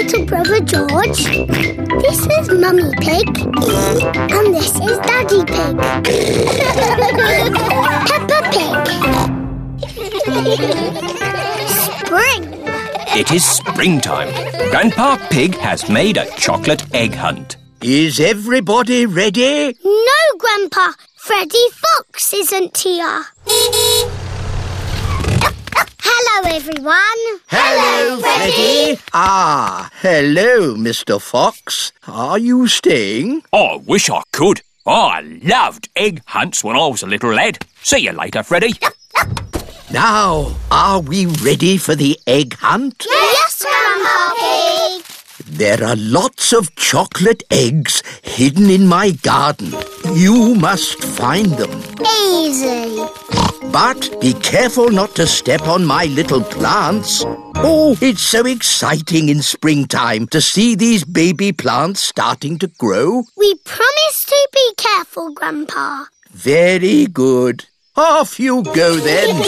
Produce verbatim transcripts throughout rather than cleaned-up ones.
little brother George. This is Mummy Pig. And this is Daddy Pig. Peppa Pig. Spring. It is springtime. Grandpa Pig has made a chocolate egg hunt. Is everybody ready? No, Grandpa. Freddy Fox isn't here. Hello, everyone. Hello, Freddy. Ah, hello, Mister Fox. Are you staying? I wish I could. I loved egg hunts when I was a little lad. See you later, Freddy. Now, are we ready for the egg hunt? Yes, Grandpa Pig. There are lots of chocolate eggs hidden in my garden. You must find them. Easy. But be careful not to step on my little plants. Oh, it's so exciting in springtime to see these baby plants starting to grow. We promise to be careful, Grandpa. Very good. Off you go then.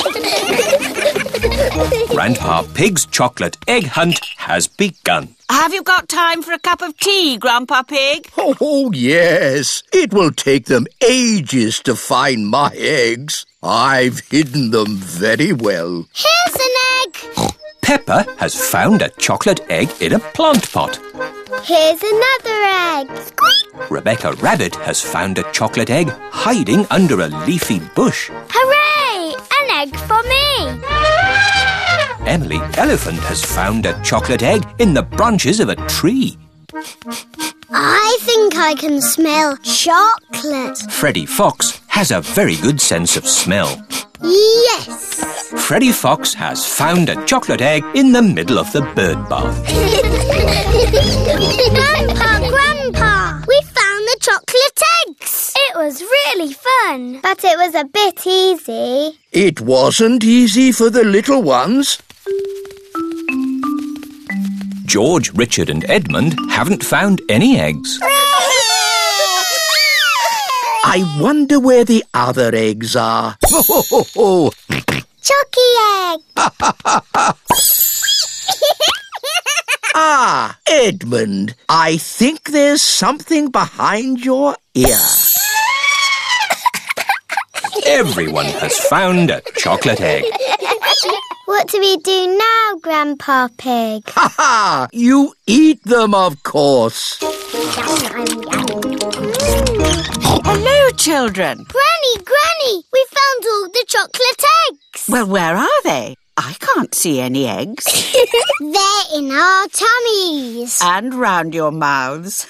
Grandpa Pig's chocolate egg hunt has begun. Have you got time for a cup of tea, Grandpa Pig? Oh, yes. It will take them ages to find my eggs. I've hidden them very well. Here's an egg. Peppa has found a chocolate egg in a plant pot. Here's another egg. Squeak. Rebecca Rabbit has found a chocolate egg hiding under a leafy bush. Hooray! An egg for me. Emily Elephant has found a chocolate egg in the branches of a tree. I think I can smell chocolate. Freddie Fox has a very good sense of smell. Yes. Freddie Fox has found a chocolate egg in the middle of the bird bath. Grandpa, Grandpa, we found the chocolate eggs. It was really fun. But it was a bit easy. It wasn't easy for the little ones. George, Richard and Edmund haven't found any eggs. I wonder where the other eggs are. Ho, ho, ho, ho. Chucky egg. Ah, Edmund, I think there's something behind your ear. Everyone has found a chocolate egg. What do we do now, Grandpa Pig? Ha ha! You eat them, of course. Hello, children. Granny, Granny, we found all the chocolate eggs. Well, where are they? I can't see any eggs. They're in our tummies. And round your mouths.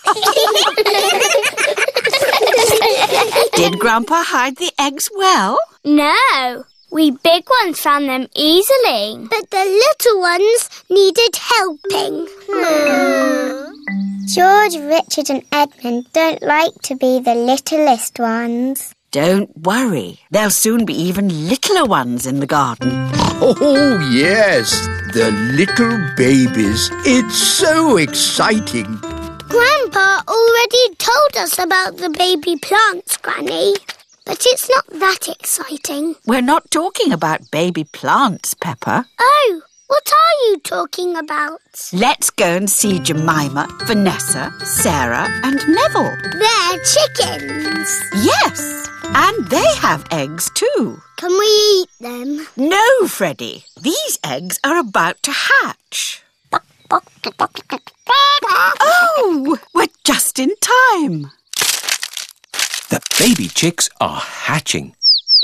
Did Grandpa hide the eggs well? No. We big ones found them easily. But the little ones needed helping. Hmm. George, Richard and Edmund don't like to be the littlest ones. Don't worry. There'll soon be even littler ones in the garden. Oh, yes, the little babies. It's so exciting. Grandpa already told us about the baby plants, Granny. But it's not that exciting. We're not talking about baby plants, Peppa. Oh, what are you talking about? Let's go and see Jemima, Vanessa, Sarah and Neville. They're chickens. Yes, and they have eggs too. Can we eat them? No, Freddie. These eggs are about to hatch. Oh, we're just in time. The baby chicks are hatching.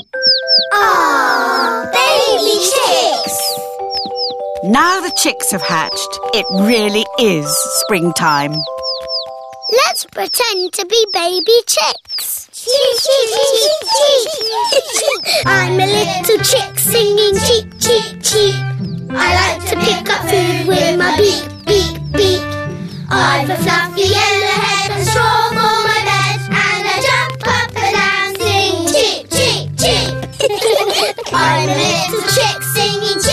Aww, baby chicks! Now the chicks have hatched, it really is springtime. Let's pretend to be baby chicks. Cheep, cheep, cheep, cheep, cheep. I'm a little chick singing cheep, cheep, cheep. I like to pick up food with my beak, beak, beak. I've a fluffy yellow head and straw for my bed, and I jump up and down, sing cheep, cheep, cheep. I'm a little chick singing cheep.